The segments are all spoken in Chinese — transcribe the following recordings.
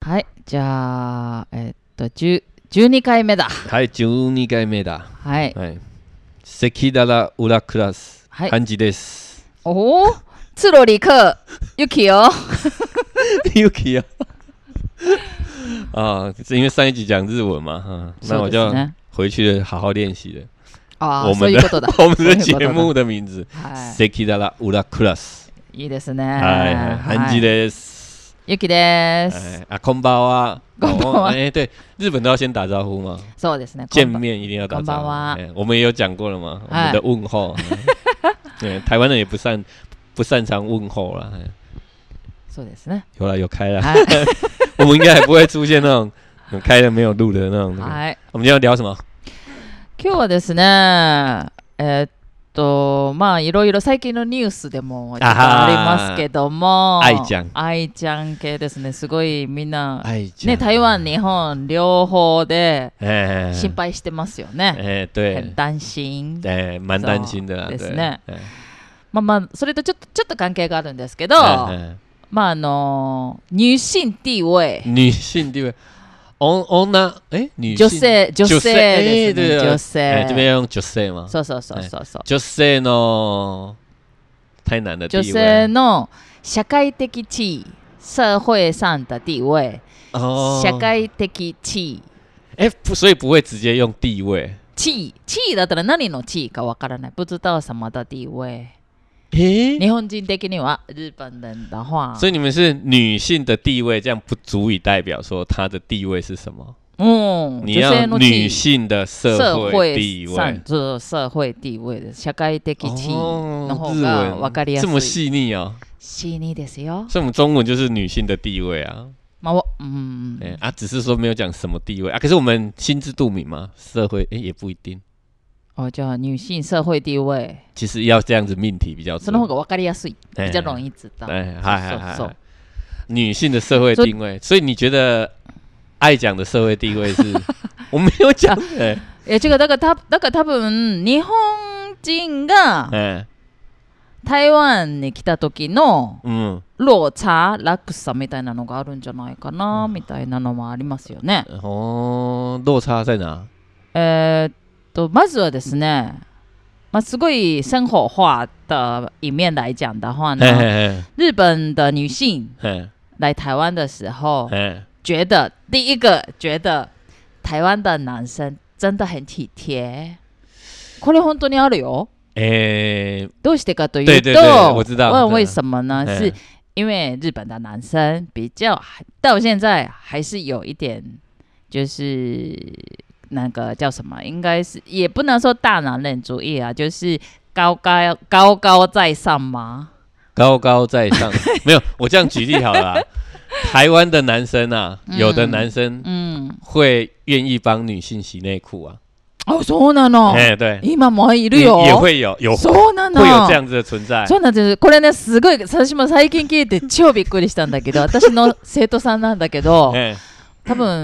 はい、じゃあ、12回目だ。 はい、12回目だ。 はい。 はい。赤だら裏クラス、 はい。 漢字です。 哦，赤裸里克 Yuki 哦。 Yuki 啊。啊，因为上一集讲日文嘛，那我就回去好好练习了。 ああ、 我们的我们的节目的名字，赤だら裏クラス。 いいですね。 はい、漢字です。 Yuki です。 啊，こんばんは。 こんばんは。 对，日本都要先打招呼吗？ そうですね。 见面一定要打招呼。我们也有讲过了嘛，我们的问候。对，台湾人也不擅长问候啦。 そうですね。 有啦，有开啦。我们应该还不会出现那种开了没有录的那种。はい。我们今天要聊什么？ 今日はですね、まあいろいろ最近のニュースでもありますけども、愛ちゃん系ですね。すごいみんなね、台湾日本両方で心配してますよね。 对， 很担心。 蛮担心的ですね。まあそれとちょっと関係があるんですけど、まあ女性地位。女性ですね。女性。 这边用女性吗？ そう。 女性の太難的地位。 女性の社会的地位、社会上的地位。社会的地位。 所以不会直接用地位。 地位だったら何の地位かわからない。不知道什么的地位。日本人的には日本人的话， 所以你们是女性的地位，这样不足以代表说她的地位是什么。你要女性的社会地位， 社会地位的社会的地位の方がわかりやすい。 这么细腻哦。 细腻ですよ。 所以我们中文就是女性的地位啊。只是说没有讲什么地位啊。可是我们心知肚明嘛，社会也不一定。 叫女性社会地位， 其实要这样子命题比较， その方が分かりやすい，比较容易知道。 女性的社会地位，所以你觉得愛ちゃん的社会地位是？我没有讲。 这个だから多分日本人が台湾に来た時の落差落差みたいなのがあるんじゃないかなみたいなのもありますよね。 落差在哪？ まずはですね、すごい生活化的一面来讲的话呢，日本的女性来台湾的时候，第一个觉得台湾的男生真的很体贴。これ本当にあるよ。どうしてかというと， 我知道。 问为什么呢？是因为日本的男生比较到现在还是有一点，就是那个叫什么？应该是也不能说大男人主义啊，就是高高在上吗？ 高高在上，没有，我这样举例好了啦。台湾的男生啊，有的男生会愿意帮女性洗内裤啊。 そうなの。 对， 今もいるよ。 也会有そうなの。 会有这样子的存在。 そうなんです。これね、すごい私も最近聞いて超びっくりしたんだけど、私の生徒さんなんだけど。多分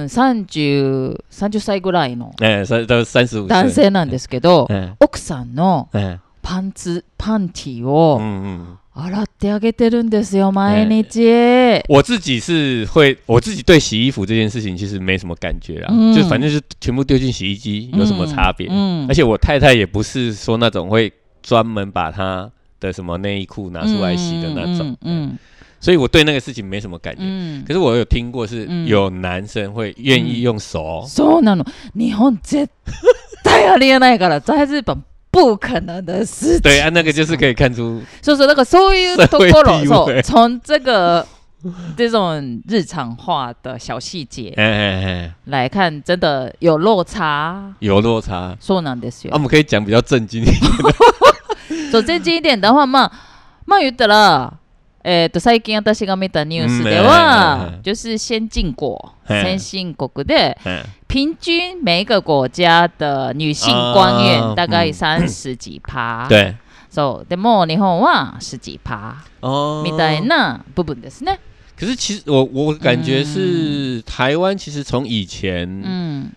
30歳ぐらいの男性なんですけど、奥さんのパンティを洗ってあげてるんですよ、毎日。 我自己对洗衣服这件事情其实没什么感觉啦，就反正是全部丢进洗衣机，有什么差别？而且我太太也不是说那种会专门把她的什么内衣裤拿出来洗的那种。所以我对那个事情没什么感觉。可是我有听过是有男生会愿意用手。 そうなの。日本絶対ありえないから在日本不可能的事情。 对啊，那个就是可以看出。 那个そういうところ，从这种日常化的小细节来看，真的有落差。 そうなんですよ。 我们可以讲比较正经一点的。 そう正经一点的话，まあ言ったら。最近私が見たニュースでは、就是先進国で、平均每一个国家的女性官员大概30几%。 对。 そう。でも日本は10几%。みたいな部分ですね。 可是其实我感觉是台湾其实从以前，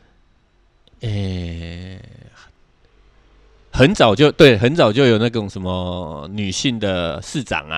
很早就有那种什么女性的市长啊。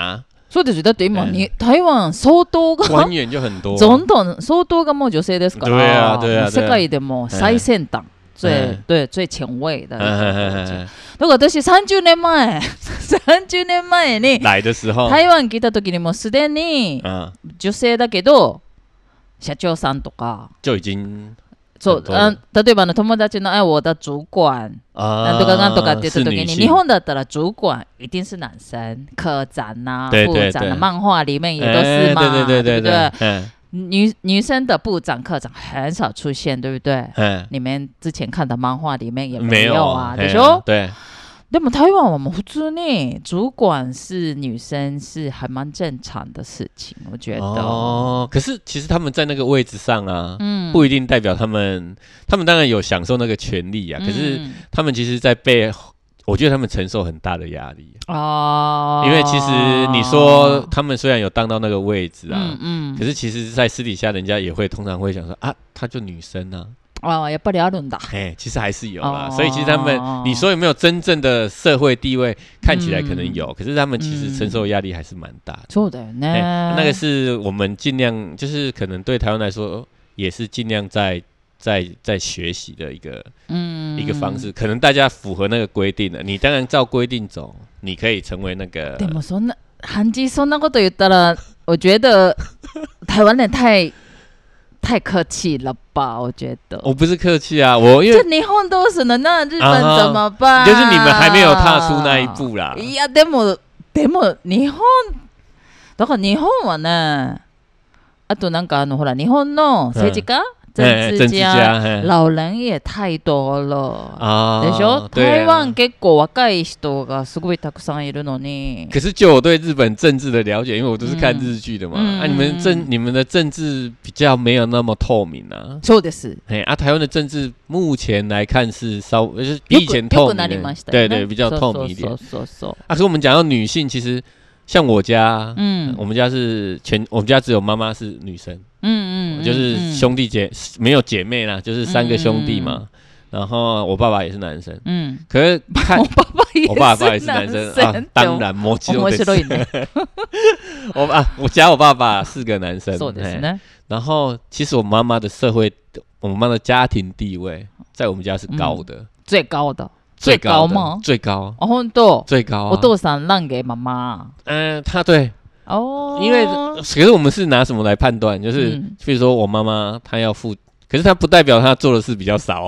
そうですよ。だって今に台湾相当が官员就很多， 总統相当がもう女性ですから。 对啊对啊。 世界でも最先端。对最前卫的。だから私30年前に来的時候台湾来た時にもうすでに女性だけど社長さんとか就已经そう例えば友達の我的主管なんとかなんとかって言った時に日本だったら主管一定是男生，科长啊部長啊漫畫裡面也都是嘛，对不对？女生的部长科长很少出现，对不对？你们之前看的漫画里面也没有啊，でしょ？ 对。 でも台湾我们普通に主管是女生是还蛮正常的事情，我觉得。 哦，可是其实他们在那个位置上啊，不一定代表他们当然有享受那个权利啊，可是他们其实在我觉得他们承受很大的压力哦，因为其实你说他们虽然有当到那个位置啊，可是其实在私底下人家也会通常会想说啊，她就女生啊。 やっぱりあるんだ。 其实还是有啦，所以其实他们，你说有没有真正的社会地位？看起来可能有，可是他们其实承受压力还是蛮大的。 そうだよね。 那个是我们尽量，就是可能对台湾来说，也是尽量在学习的一个方式。可能大家符合那个规定了，你当然照规定走，你可以成为那个。 でもそんなこと言ったら，我觉得台湾人太客气了吧？我觉得我不是客气啊，因为就日本都是了，那日本怎么办？ 就是你们还没有踏出那一步啦。 いやでも日本だから日本はね、あとなんかほら日本の政治家。政治家老人也太多了でしょ？台湾結構若い人がすごいたくさんいるのに。 可是就我对日本政治的了解，因为我都是看日剧的嘛，你们的政治比较没有那么透明啊。 そうです。 台湾的政治目前来看是就是比以前透明的，对，比较透明一点。可是我们讲到女性，其实像我家，我们家我们家只有妈妈是女生。就是兄弟没有姐妹啦，就是3个兄弟嘛。然后我爸爸也是男生，可是我爸爸也是男生啊，当然面白いね。我爸爸4个男生， そうですね。 然后其实我妈妈的我妈妈的家庭地位在我们家是高的， 最高的。最高吗？ 最高。 本当？ 最高啊！ お父さん让给妈妈。 他对。因为可是我们是拿什么来判断？就是比如说我妈妈她要付，可是她不代表她做的事比较少。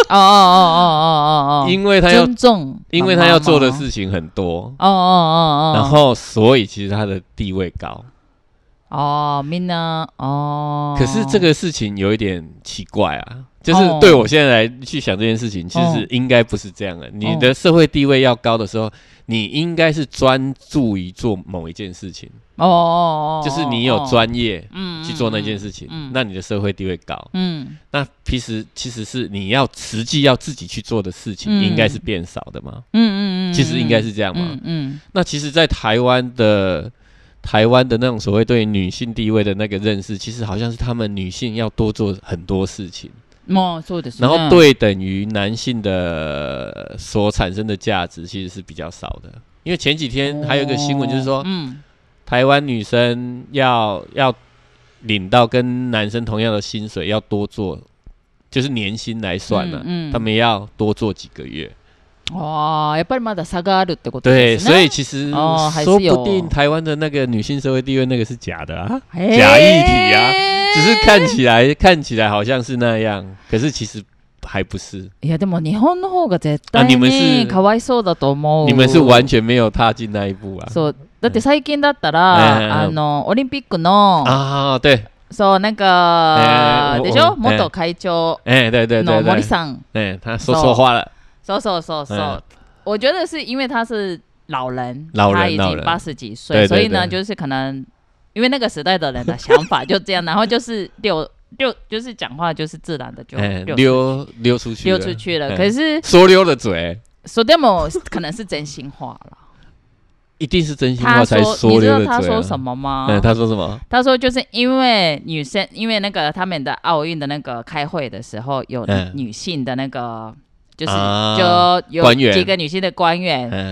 因为她要尊重，因为她要做的事情很多。然后所以其实她的地位高。 みんな可是这个事情有一点奇怪啊。就是对我现在来去想这件事情，其实应该不是这样的。你的社会地位要高的时候，你应该是专注于做某一件事情。就是你有专业去做那件事情，那你的社会地位高。那其实是你实际要自己去做的事情，应该是变少的嘛。其实应该是这样嘛。那其实，在台湾的那种所谓对女性地位的那个认识，其实好像是他们女性要多做很多事情。然后对等于男性的所产生的价值其实是比较少的，因为前几天还有一个新闻就是说，台湾女生要领到跟男生同样的薪水要多做，就是年薪来算了，他们要多做几个月。 やっぱりまだ差があるってことですね。 对，所以其实说不定台湾的那个女性社会地位那个是假的啊，假议题啊，只是看起来好像是那样，可是其实还不是。 いやでも日本の方が絶対にかわいそうだと思う。 你们是完全没有踏进那一步啊。 そうだって最近だったらオリンピックの对。 そうなんかでしょ、元会長の森さん， 他说话了。 我觉得是因为他是老人，他已经80几岁，所以呢，就是可能因为那个时代的人的想法就这样，然后就是就是讲话就是自然的就溜出去了。 可是说溜了嘴， 说でも可能是真心话了。 一定是真心话才说溜了嘴。 你知道他说什么吗？ 他说什么？ 他说就是因为女生，因为那个他们的奥运的那个开会的时候有女性的那个。就有几个女性的官员，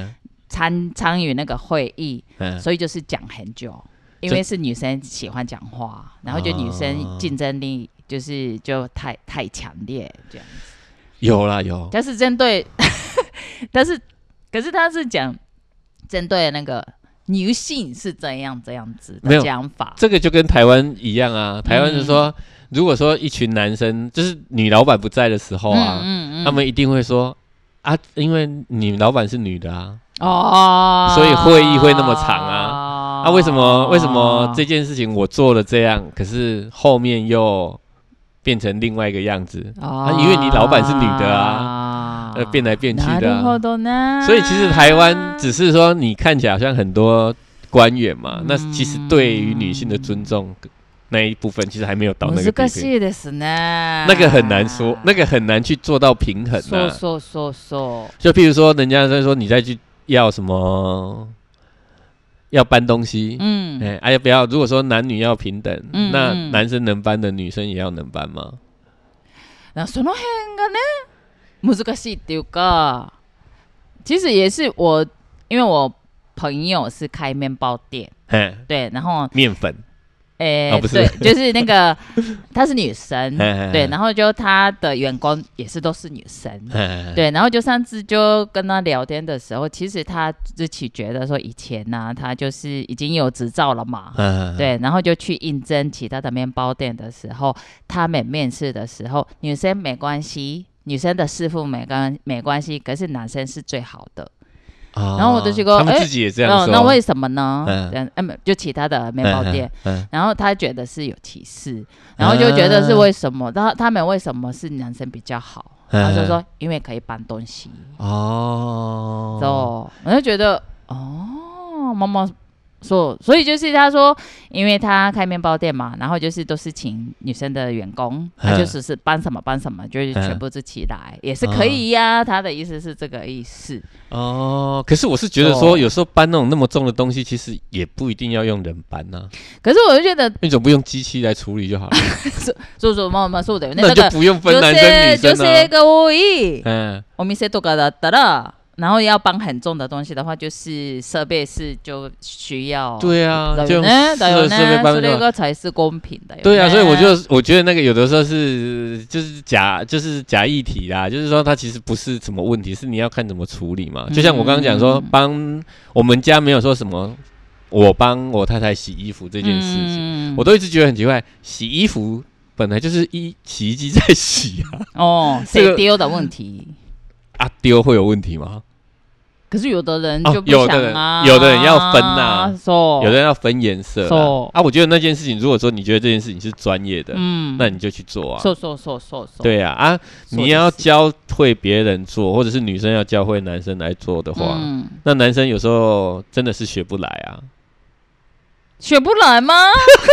参与那个会议，所以就是讲很久，因为是女生喜欢讲话，然后就女生竞争力就太强烈这样子。 有啦有， 但是针对，可是他是讲针对那个女性是这样子的讲法， 这个就跟台湾一样啊。台湾是说，如果说一群男生，就是女老板不在的时候啊，他们一定会说啊，因为女老板是女的啊，所以会议会那么长啊。为什么这件事情我做了这样，可是后面又变成另外一个样子因为你老板是女的变来变去的所以其实台湾只是说你看起来好像很多官员嘛，那其实对于女性的尊重那一部分其实还没有到那个地步。那个很难说，那个很难去做到平衡就譬如说，人家在说你再去要什么。要搬东西，要不要？如果说男女要平等，那男生能搬的，女生也要能搬吗？ 那その辺がね難しいっていうか，其实也是因为我朋友是开面包店，对，然后面粉。 不是，对，就是那个她是女生，对，然后就她的员工也是都是女生，对，然后就上次就跟她聊天的时候，其实她自己觉得说以前呢，她就是已经有执照了嘛，对，然后就去应征其他的面包店的时候，他们面试的时候，女生没关系，女生的师傅没关系，可是男生是最好的。然后我就说， 他们自己也这样说， 那为什么呢？就其他的面包店，然后他觉得是有歧视，然后就觉得是为什么？他们为什么是男生比较好？他就说，因为可以搬东西。我就觉得，妈妈说，所以就是他说，因为他开面包店嘛，然后就是都是请女生的员工，他就是搬什么，就是全部自己来，也是可以呀。他的意思是这个意思。 可是我是觉得说，有时候搬那么重的东西，其实也不一定要用人搬啊。 可是我就觉得， 你总不用机器来处理就好了。 そうだよね。 那就不用分男生女生女性が多い。お店とかだったら。然后要搬很重的东西的话，就是设备是就需要。 对啊，就用设备搬这个才是公平的。 对啊，所以我觉得那个有的时候就是假议题啦，就是说它其实不是什么问题，是你要看怎么处理嘛。就像我刚刚讲说，帮我们家没有说什么，我帮我太太洗衣服这件事情，我都一直觉得很奇怪，洗衣服本来就是洗衣机在洗啊。 谁丢的问题丢会有问题吗？ 可是有的人就不想有的人要分有的人要分颜色我觉得那件事情，如果说你觉得这件事情是专业的，那你就去做啊。对啊你要教会别人做，或者是女生要教会男生来做的话，那男生有时候真的是学不来啊。 学不来吗？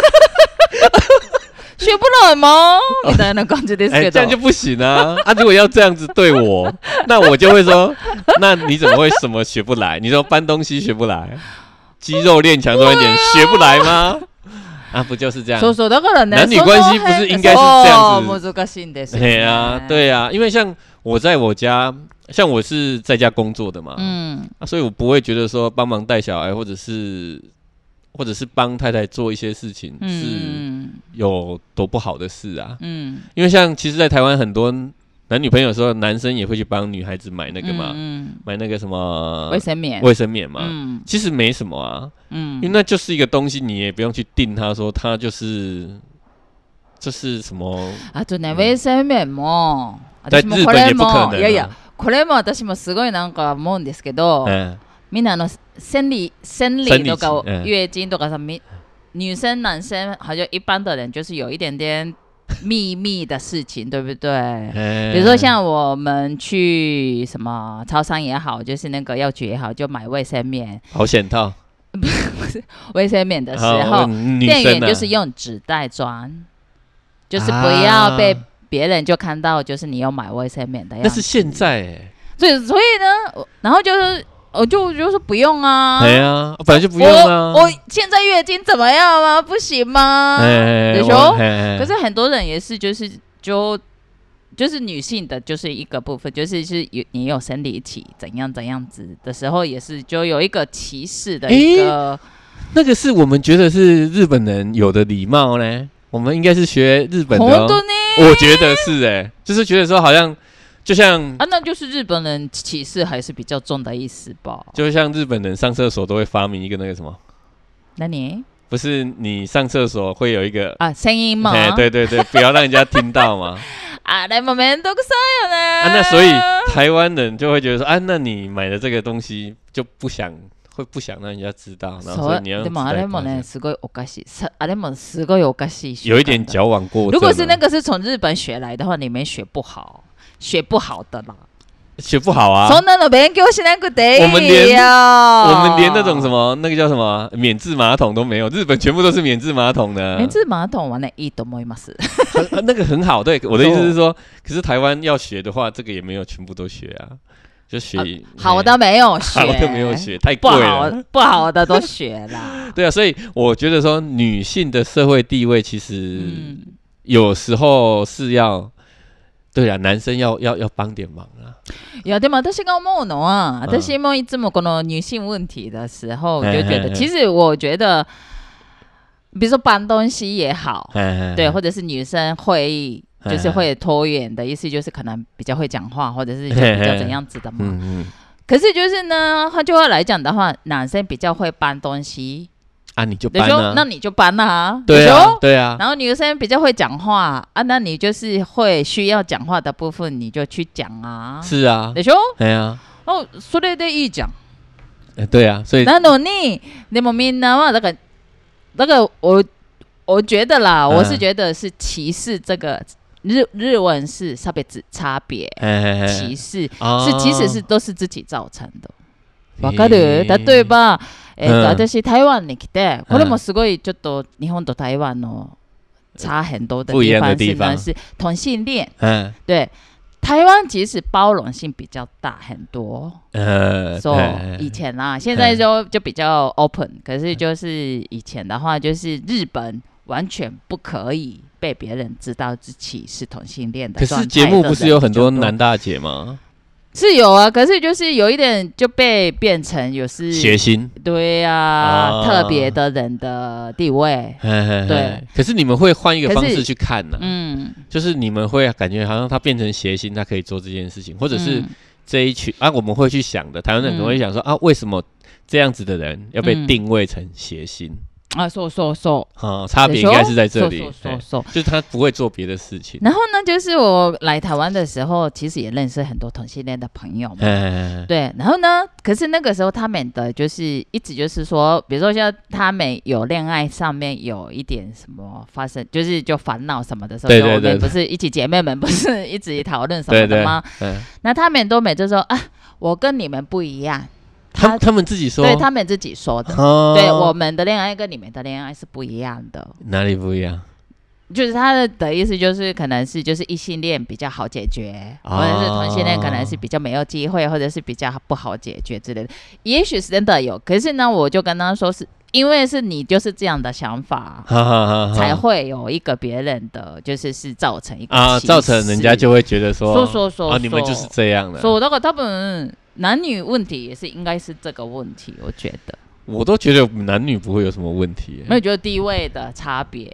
学不来吗？みたいな感じですけど。 这样就不行啊！如果要这样子对我，那我就会说，那你怎么会什么学不来？你说搬东西学不来，肌肉练强多一点，学不来吗？不就是这样？ だからね。 男女关系不是应该是这样子？ 難しいんですよ。 对啊，因为像我在我家，像我是在家工作的嘛，所以我不会觉得说帮忙带小孩，或者是帮太太做一些事情是有多不好的事啊。因为像其实在台湾很多男女朋友的时候，男生也会去帮女孩子买那个嘛，买那个什么卫生棉嘛，其实没什么啊。因为那就是一个东西，你也不用去定它说它就是什么。 衛生棉も在日本也不可能。 いやいや、これも私もすごいなんか思うんですけど。みんな生理とか月经とかさ，女生男生好像一般的人就是有一点点秘密的事情，对不对？比如说像我们去什么超商也好，就是那个药局也好，就买卫生棉、 保险套， 不是卫生棉的时候，店员就是用纸袋装，就是不要被别人就看到，就是你有买卫生棉的样子。 那是现在所以呢，然后就是。我就说不用啊， 对啊，本来就不用啊。 我现在月经怎么样吗？不行吗？对说，可是很多人也是就就是女性的就是一个部分，就是你有生理期怎样子的时候，也是就有一个歧视的一个。 那个是我们觉得是日本人有的礼貌呢，我们应该是学日本的、我觉得是就是觉得说好像就像那就是日本人歧视还是比较重的意思吧？ 就像日本人上厕所都会发明一个那个什么？ 那你不是你上厕所会有一个声音吗？ 对，不要让人家听到嘛。 でも面倒くさいよね。 那所以台湾人就会觉得说那你买的这个东西就不想让人家知道，然后所以你要でもあれもねすごいおかしい。あれもすごいおかしい。 有一点矫枉过正。 如果是那个是从日本学来的话，你们学不好的啦。 学不好啊！ そんなの勉強しなくていいよ。 我们连那种什么那个叫什么免治马桶都没有，日本全部都是免治马桶的。 免治马桶はねいいと思います。 那个很好，对，我的意思是说，可是台湾要学的话，这个也没有全部都学啊，就学好的没有学， 好的没有学，太贵了， 不好的都学啦。 对啊，所以我觉得说女性的社会地位其实有时候是要。对啊，男生要帮点忙啦。 いやでも私が思うのは、私もいつもこの女性问题的时候，就觉得，其实我觉得，比如说搬东西也好，对，或者是女生会议，就是会拖延的意思，就是可能比较会讲话，或者是就比较怎样子的嘛。可是就是呢，换句话来讲的话，男生比较会搬东西。 你就搬啊， 那你就搬啊， 对啊。 然后女生比较会讲话那你就是会需要讲話的部分，你就去讲啊。 是啊， でしょ？ 对啊。 それでいいじゃん。 对啊，所以なのに、でもみんなは那个我觉得啦，我是觉得是歧视这个日文是差別歧視，其實是都是自己造成的。わかる？例えば。私台湾に来て、これもすごいちょっと日本と台湾の差很多的地方是呢，是同性恋。对，台湾其实包容性比较大很多。以前啦，现在就比较 open， 可是就是以前的话，就是日本完全不可以被别人知道自己是同性恋的。 可是节目不是有很多男大姐吗？ 是有啊，可是就是有一点就被变成有是血腥， 对啊，特别的人的地位，对。 可是你们会换一个方式去看呢？就是你们会感觉好像他变成邪心，他可以做这件事情，或者是这一群我们会去想的，台湾人可能会想说为什么这样子的人要被定位成邪心？差别应该是在这里，就是他不会做别的事情。 然后呢，就是我来台湾的时候，其实也认识很多同性恋的朋友嘛，对。然后呢，可是那个时候他们的就是一直就是说，比如说像他们有恋爱上面有一点什么发生，就烦恼什么的时候，我们不是一起姐妹们不是一直讨论什么的吗？那他们都每次说我跟你们不一样。 他们自己说， 对他们自己说的，对我们的恋爱跟你们的恋爱是不一样的。 哪里不一样？ 就是他的意思就是可能是就是异性恋比较好解决，或者是同性恋可能是比较没有机会，或者是比较不好解决之类的。也许是真的有，可是呢，我就跟他说是因为是你就是这样的想法，才会有一个别人的就是造成一个歧视， 造成人家就会觉得说你们就是这样的。 だから多分男女问题也是应该是这个问题，我觉得。 我都觉得男女不会有什么问题， 没有觉得地位的差别。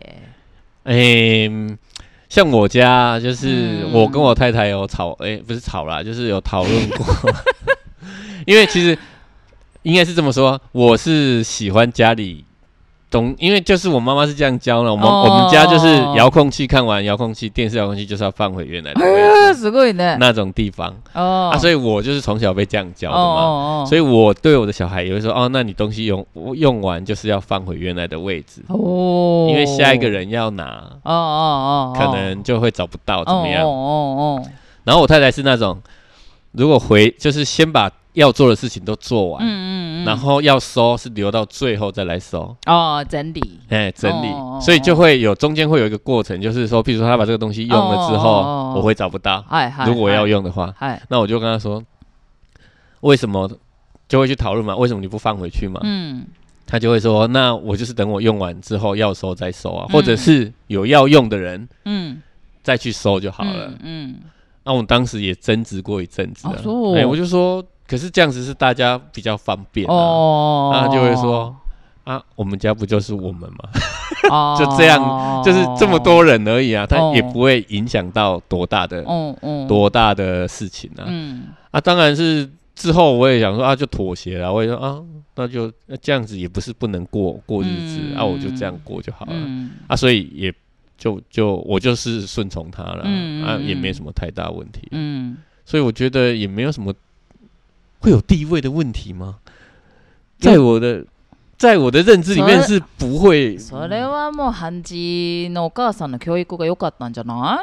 像我家就是我跟我太太有吵，不是吵啦，就是有讨论过。因为其实应该是这么说，我是喜欢家里因为就是我妈妈是这样教的，我们家就是遥控器看完电视遥控器就是要放回原来的位置， すごいね， 那种地方所以我就是从小被这样教的嘛，所以我对我的小孩也会说那你东西用完就是要放回原来的位置因为下一个人要拿可能就会找不到怎么样然后我太太是那种如果就是先把要做的事情都做完，然后要收是留到最后再来收整理， 整理，所以就会中间会有一个过程，就是说，譬如说他把这个东西用了之后，我会找不到，如果我要用的话，那我就跟他说，为什么就会去讨论嘛？为什么你不放回去嘛？他就会说，那我就是等我用完之后要收再收或者是有要用的人， 再去收就好了。那我们当时也争执过一阵子了，我就说，可是这样子是大家比较方便那他就会说我们家不就是我们吗？就这样，就是这么多人而已他也不会影响到多大的事情当然是之后我也想说就妥协了，我也说那就这样子也不是不能过日子我就这样过就好了所以也就我就是顺从他了也没什么太大问题所以我觉得也没有什么会有地位的问题吗？在我的认知里面是不会。 それはもう韓国のお母さんの教育が良かったんじゃない？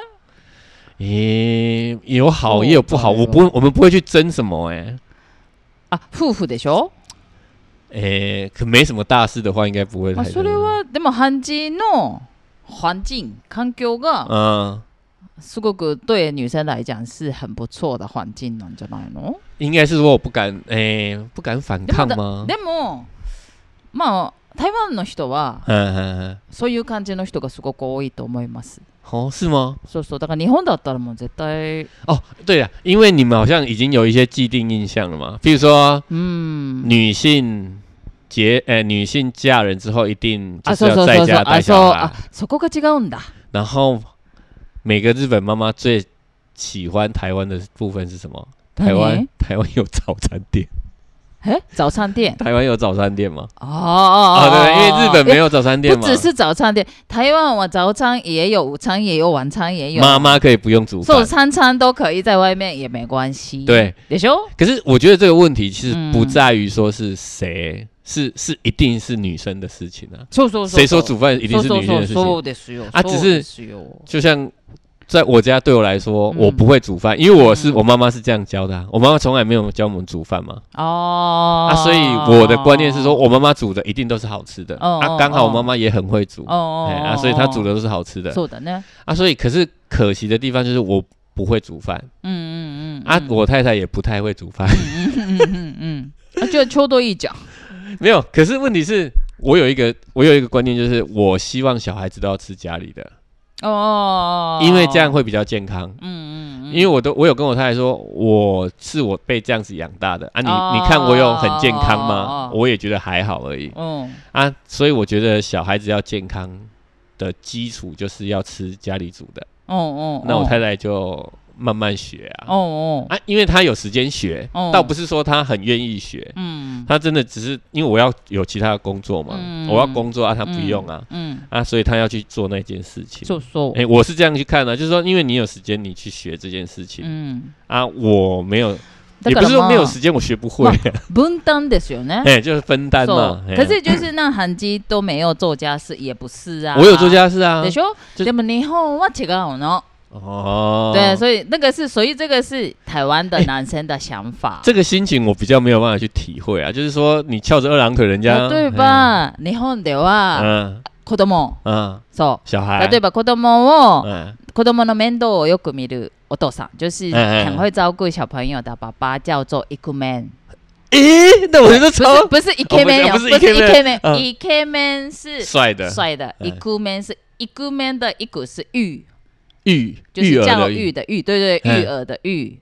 有好也有不好，我们不会去争什么夫婦でしょ？ 可没什么大事的话，应该不会太。 それはでも韓国の環境環境がすごく对女生来讲是很不错的环境なんじゃないの？ 应该是说我不敢反抗吗？ でもまあ台湾の人はそういう感じの人がすごく多いと思います。 是吗？ そうだから日本だったらもう絶対对啊，因为你们好像已经有一些既定印象了嘛，比如说女性嫁人之后一定就是要在家带小孩そこが違うんだ。 然后每个日本妈妈最喜欢台湾的部分是什么？台湾有早餐店。 早餐店？ 台湾有早餐店吗？ 对， 因为日本没有早餐店嘛。 不只是早餐店，台湾我早餐也有，午餐也有，晚餐也有。 妈妈可以不用煮饭， 餐餐都可以在外面也没关系。 对， でしょ？ 可是我觉得这个问题其实不在于说是谁，是一定是女生的事情谁说煮饭一定是女生的事情？只是就像。在我家对我来说，我不会煮饭，因为我妈妈是这样教的我妈妈从来没有教我们煮饭嘛。所以我的观念是说，我妈妈煮的一定都是好吃的刚好我妈妈也很会煮所以她煮的都是好吃的。 そうだね。 所以可是可惜的地方就是我不会煮饭。我太太也不太会煮饭。 就秋多一讲。 没有，可是问题是我有一个观念，就是我希望小孩子都要吃家里的。因为这样会比较健康。因为我有跟我太太说，我被这样子养大的你看我有很健康吗？我也觉得还好而已。所以我觉得小孩子要健康的基础就是要吃家里煮的。那我太太就慢慢学因为他有时间学倒不是说他很愿意学他真的只是因为我要有其他的工作嘛我要工作他不用所以他要去做那件事情我是这样去看就是说因为你有时间你去学这件事情我没有也不是说没有时间我学不会分担ですよね就是分担嘛可是就是那韓基都没有做家事也不是我有做家事でしょでも日本は違うの对，所以这个是台湾的男生的想法这个心情我比较没有办法去体会就是说你翘着二郎腿人家例えば日本では子供そう小孩例えば子供の面倒をよく見るお父さん就是很会照顾小朋友的爸爸叫做イクメン那我觉得不是イケメン不是イケメンイケメン是帅的イクメン是イクメン的イク是就是教育的育对育儿的育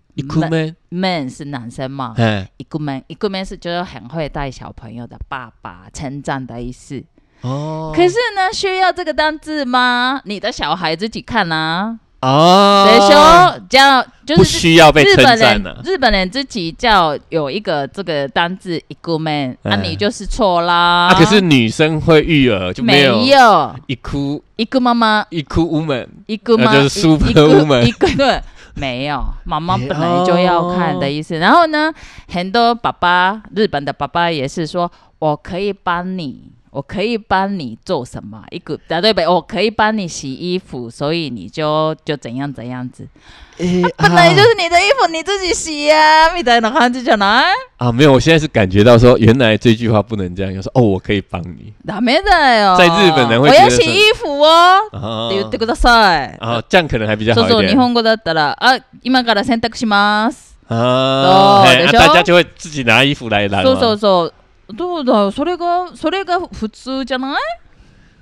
man 是男生嘛イクメン是就是很会带小朋友的爸爸称赞的意思可是呢需要这个单字吗？你的小孩自己看对说叫就是不需要被称赞日本人自己叫有一个这个单字イクメン你就是错啦可是女生会育儿就没有イク妈妈イク woman イク妈就是 super woman 对没有妈妈本来就要看的意思然后呢很多日本的爸爸也是说我可以帮你做什么对不对我可以帮你洗衣服所以你就怎样怎样子本来就是你的衣服你自己洗みたいな感じじゃない没有我现在是感觉到说原来这句话不能这样说我可以帮你ダメだよ在日本人会觉得我要洗衣服って言ってください这样可能还比较好一点そう日本語だったら今から洗濯します大家就会自己拿衣服来拿そうどうだよそれが普通じゃない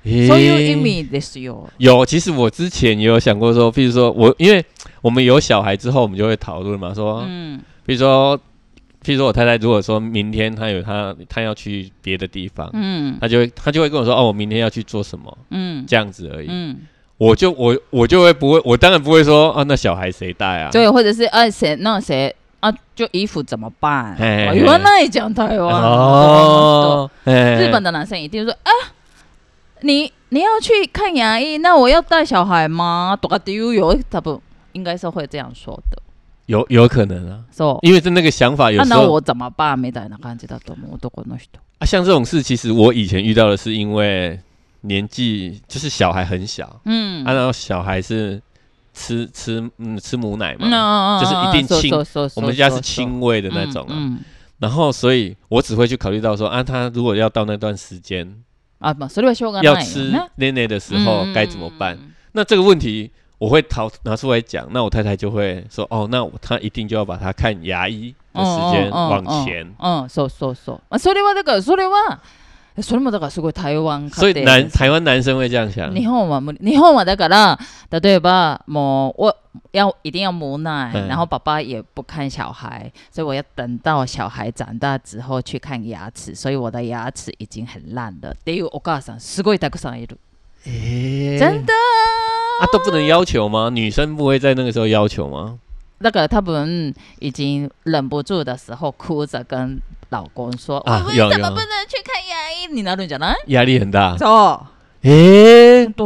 そういう意味ですよ。 有，其实我之前也有想过说，譬如说因为我们有小孩之后，我们就会讨论嘛，说，譬如说我太太如果说明天她要去别的地方，她就会跟我说，哦，我明天要去做什么，这样子而已。我就会不会，我当然不会说啊，那小孩谁带啊？ 对，或者是谁啊，就衣服怎么办？原来讲台湾哦，日本的男生一定说啊，你要去看牙医，那我要带小孩吗？多丢有，他不应该是会这样说的。 有可能啊，因为是那个想法有时候。 那我怎么办？みたいな感じだと思う男の人。 啊，像这种事，其实我以前遇到的是因为年纪就是小孩很小，然后小孩是吃母奶嘛，就是一定亲，我们家是亲喂的那种啊。然后，所以我只会去考虑到说啊，他如果要到那段时间要吃奶奶的时候该怎么办？那这个问题我会拿出来讲，那我太太就会说哦，那他一定就要把他看牙医的時間往前。 そうそうそう。それはだからそれもだからすごい台湾所以台湾男生会这样想。 日本はだから例えばもう一定要母奶，然后爸爸也不看小孩，所以我要等到小孩长大之后去看牙齿，所以我的牙齿已经很烂了。っていうお母さんすごいたくさんいる。真的啊，都不能要求吗？女生不会在那个时候要求吗？ 那个他们已经忍不住的时候，哭着跟老公说：“我们怎么不能去看牙医？”你那种讲呢？ 压力很大。 そう。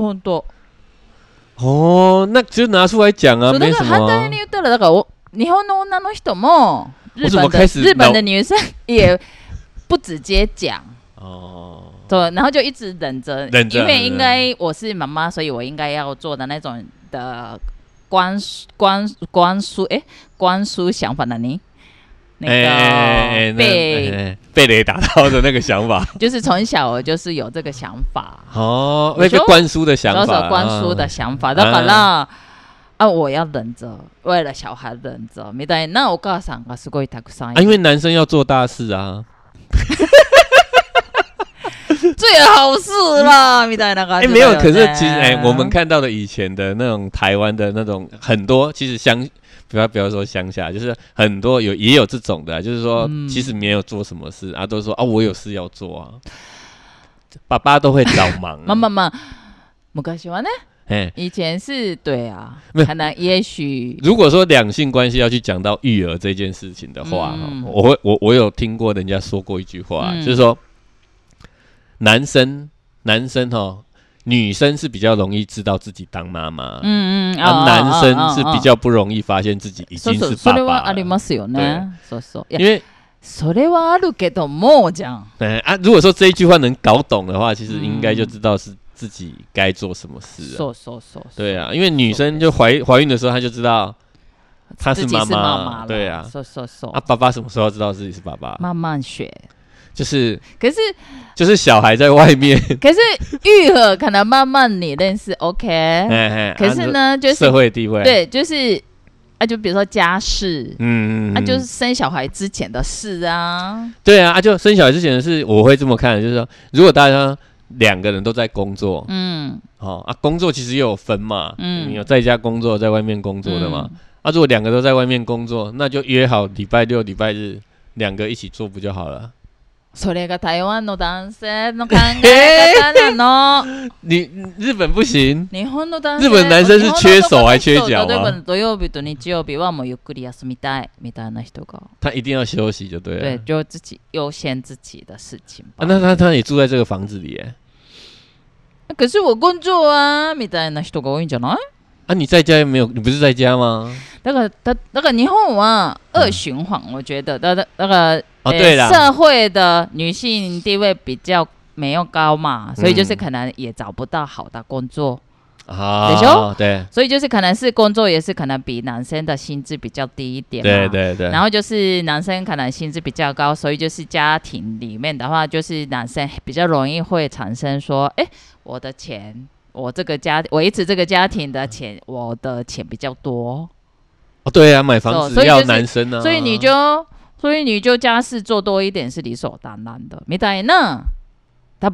本当。 哦，那就拿出来讲啊，没什么。反対に言ったらだから日本の女の人も日本的女生也不直接讲。哦。对，然后就一直忍着，因为应该我是妈妈，所以我应该要做的那种的灌输想法的你，那个被雷打到的那个想法， 就是从小我就是有这个想法哦，那个灌输的想法， 灌输的想法，だから我要忍着，为了小孩忍着，みたいなお母さんがすごいたくさんいる。 因为男生要做大事啊。 最好是啦，みたいな感じ。 没有，可是其实我们看到的以前的那种台湾的那种很多，其实不要说乡下，就是很多也有这种的，就是说其实没有做什么事啊，都说啊我有事要做啊，爸爸都会找忙。 ま昔はね。以前是对啊，可能也许如果说两性关系要去讲到育儿这件事情的话，我有听过人家说过一句话，就是说男生女生是比较容易知道自己当妈妈，男生是比较不容易发现自己已经是爸爸了。それはありますよね。そうそう。因为それはあるけども这样。 如果说这一句话能搞懂的话，其实应该就知道是自己该做什么事了。对啊，因为女生就怀孕的时候，她就知道她是妈妈，对啊。爸爸什么时候知道自己是爸爸？ 慢慢学。 就是小孩在外面， 可是育儿可能慢慢你认识 OK， 可是呢就是社会地位， 对，就是就比如说家事，就是生小孩之前的事啊， 对啊，就生小孩之前的事，我会这么看，就是说如果大家两个人都在工作，工作其实也有分嘛，你有在家工作，在外面工作的嘛，如果两个都在外面工作，那就约好礼拜六、礼拜日两个一起做不就好了？ それが台湾の男性の考え方なの。 你日本不行。 日本の男性。 日本男生是缺手还缺脚例えば土曜日と日曜日はもうゆっくり休みたいみたいな人が。 他一定要休息就对了。 对，就自己优先自己的事情吧。 那他也住在这个房子里耶。 可是我工作啊みたいな人が多いんじゃない？ 你在家没有？你不是在家吗？ だから日本は二循環，我觉得那个对啦， 社会的女性地位比较没有高嘛，所以就是可能也找不到好的工作。 对， 所以就是可能是工作也是可能比男生的薪资比较低一点嘛， 对， 然后就是男生可能薪资比较高，所以就是家庭里面的话，就是男生比较容易会产生说，我的钱，我维持这个家庭的钱，我的钱比较多。 对啊，买房子要男生啊， 所以你就家事做多一点是理所当然的。みたいな多分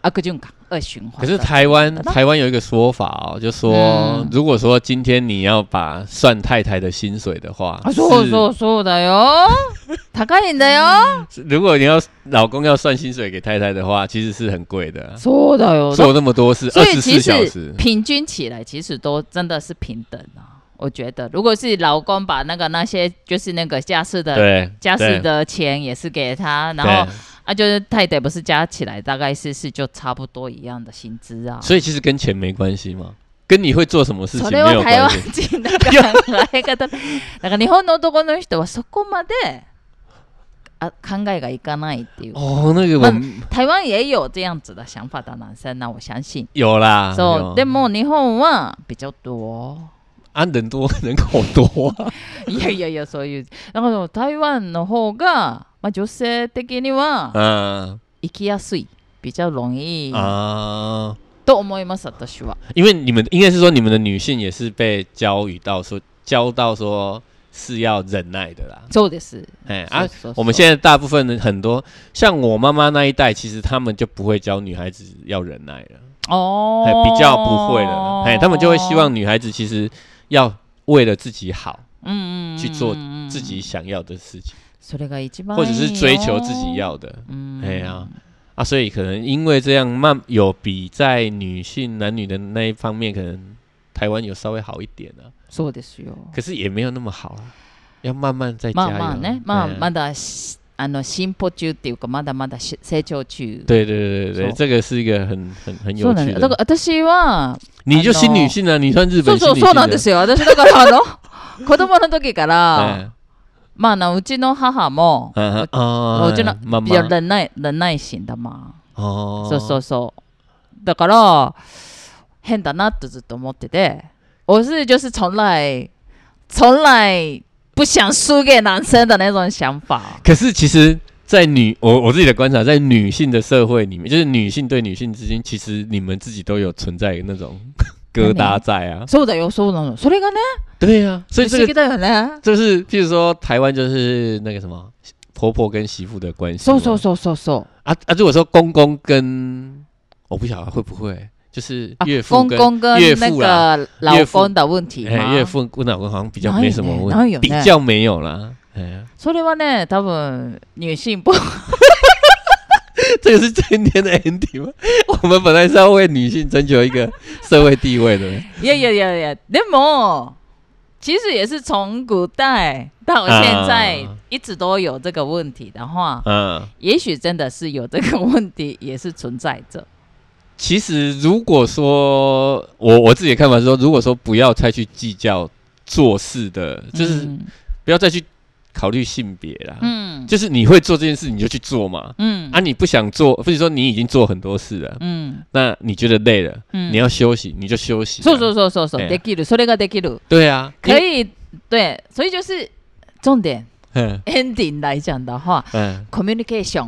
悪循环，恶循环。 可是台湾有一个说法哦，就说、如果说今天你要把算太太的薪水的话， そうだよ，高いんだよ。 如果你要老公要算薪水给太太的话，其实是很贵的。 そうだよ， 做那么多事，24小时， 平均起来其实都真的是平等啊。我觉得，如果是老公把那些就是那个家事的钱也是给他，然后就是太太不是加起来大概是就差不多一样的薪资啊。 所以其实跟钱没关系嘛，跟你会做什么事情没有关系。 それは台湾人の考え方。だから日本の男の人はそこまで考えがいかないっていう。 那个台湾也有这样子的想法的男生，那我相信有啦。 そうでも日本は比較多。 人多人口多いやそういうだから台湾の方が、女性的には生きやすい比較容易と思います私は。 因为你们应该是说你们的女性也是被教到说是要忍耐的啦。 そうです。 我们现在大部分的很多像我妈妈那一代，其实他们就不会教女孩子要忍耐了。比较不会了。他们就会希望女孩子其实要为了自己好，去做自己想要的事情，或者是追求自己要的，所以可能因为这样有比在男女的那一方面，可能台湾有稍微好一点啊。 そうですよ。 可是也没有那么好啊，要慢慢再加油。 まだ進歩中っていうかまだまだ成長中。 对，这个是一个很有趣的。 だから私は你就新女性啊，你算日本新女性。 そうなんですよ。私だから子供の時からうちの母もうちの比較忍耐心だ嘛。そうだから変だなってずっと思ってて、我是就是从来不想输给男生的那种想法。 可是其实在我自己的观察，在女性的社会里面，就是女性对女性之间，其实你们自己都有存在那种疙瘩在啊。 そうだよ、そうなの。それがね。 对啊，所以这个不思議だよね。 就是譬如说台湾就是那个什么婆婆跟媳妇的关系。 そう如果说公公跟我不晓得会不会。就是岳父公公跟那个老公的问题吗？ 岳父跟老公好像比较没什么问题，比较没有啦。 それはね、多分女性不。 这个是今天的 ending 吗？我们本来是要为女性争取一个社会地位的。 いや，でも其实也是从古代到现在一直都有这个问题的话，也许真的是有这个问题也是存在着。 其实，如果说我自己的看法是说，如果说不要再去计较做事的，就是不要再去考虑性别啦，就是你会做这件事你就去做嘛，你不想做，或者说你已经做很多事了，那你觉得累了，你要休息你就休息。 そうできる、それができる。 对啊， 可以，对，所以就是重点 ending 来讲的话，communication。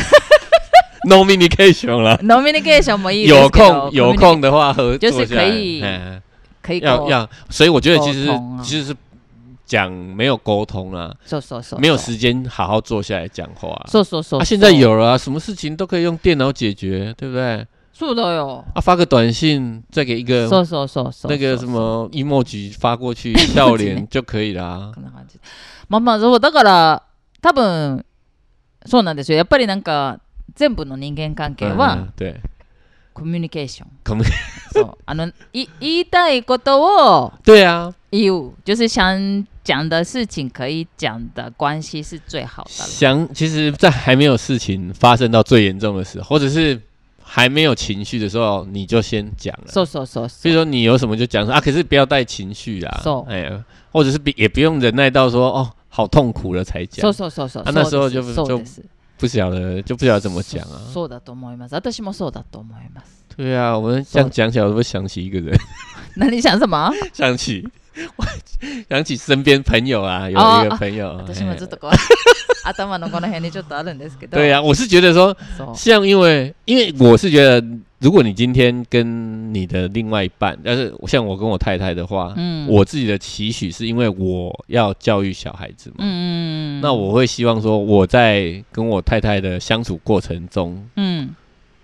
Nomination 啦 ，Nomination 没意思。 有空的话合作就是可以要，所以我觉得其实是讲没有沟通啦，没有时间好好坐下来讲话。现在有了什么事情都可以用电脑解决，对不对？ 是的哟。 发个短信，再给一个那个什么 emoji 发过去，笑脸就可以啦。 そうだから多分そうなんですよ。やっぱりなんか。全部の人間関係はコミュニケーション。そう言いたいことを言う，就是想讲的事情可以讲的关系是最好的。 其实，在还没有事情发生到最严重的时候，或者是还没有情绪的时候，你就先讲了。所以说你有什么就讲可是不要带情绪啦。或者是也不用忍耐到说好痛苦了才讲。那时候就不晓得怎么讲啊。 そうだと思います。私もそうだと思います。 对啊，我们这样讲起来，我会想起一个人。 那你想什么？ 想起身边朋友啊，有一个朋友。 私もずっと頭のこの辺にちょっとあるんですけど。 对啊，我是觉得说，像因为我是觉得，如果你今天跟你的另外一半，但是像我跟我太太的话，我自己的期许是因为我要教育小孩子嘛，那我会希望说我在跟我太太的相处过程中，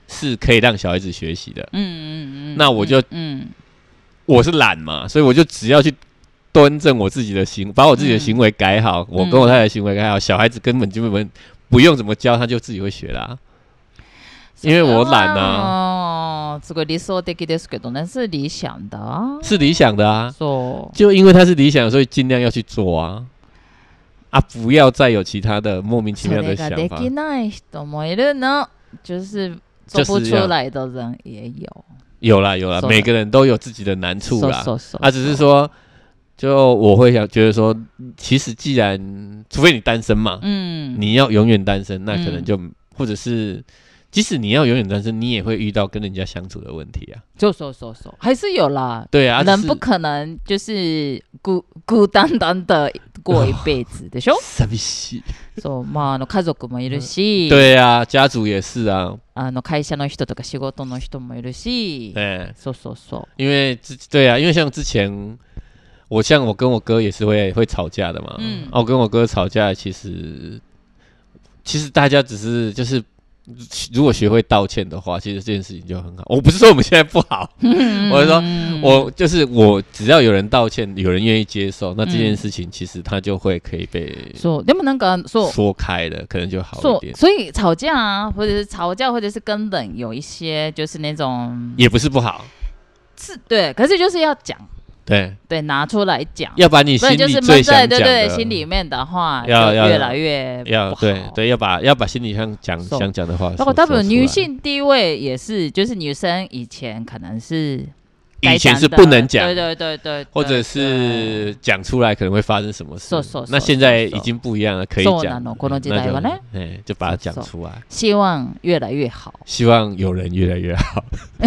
是可以让小孩子学习的。那我就我是懒嘛，所以我就只要去端正我自己的把我自己的行为改好，我跟我太太的行为改好，小孩子根本就不用怎么教，他就自己会学啦。因为我懒啊。 这个理想的ですけどね，是理想的啊， 是理想的啊。就因为它是理想，所以尽量要去做啊。不要再有其他的莫名其妙的想法。それができない人もいるの，就是做不出来的人也有。有啦，每个人都有自己的难处啦。只是说，就我会觉得说，其实既然除非你单身嘛，你要永远单身，那可能就或者是。即使你要永远单身，你也会遇到跟人家相处的问题啊。还是有啦。对啊，人不可能就是孤单单的过一辈子でしょ。寂しい。家族もいるし。对啊，家族也是啊。会社の人とか仕事の人もいるし。因为对啊，因为像之前我跟我哥也是会吵架的嘛。我跟我哥吵架，其实大家只是就是。如果学会道歉的话，其实这件事情就很好。我不是说我们现在不好，我是说，我只要有人道歉，有人愿意接受，那这件事情其实它就会可以被说开了，可能就好一点。所以吵架啊，或者是根本有一些就是那种也不是不好，是对，可是就是要讲。对，拿出来讲，要把你心里最想讲的，对，心里面的话要越来越不好。对，要把心里想讲的话。然后，多分女性地位也是，就是女生以前可能是以前是不能讲，对，或者是讲出来可能会发生什么事。那现在已经不一样了，可以讲。就把它讲出来。希望越来越好，希望有人越来越好。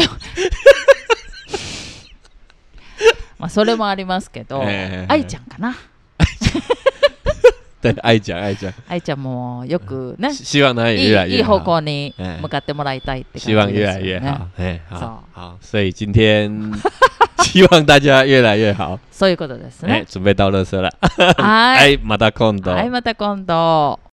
それもありますけど、愛ちゃんかな。对，愛ちゃんもよくね。希望他也越来越好。いい方向に向かってもらいたいって感じですよね。希望越来越好。好，所以今天希望大家越来越好。そういうことですね。準備到垃圾了。はい。また今度。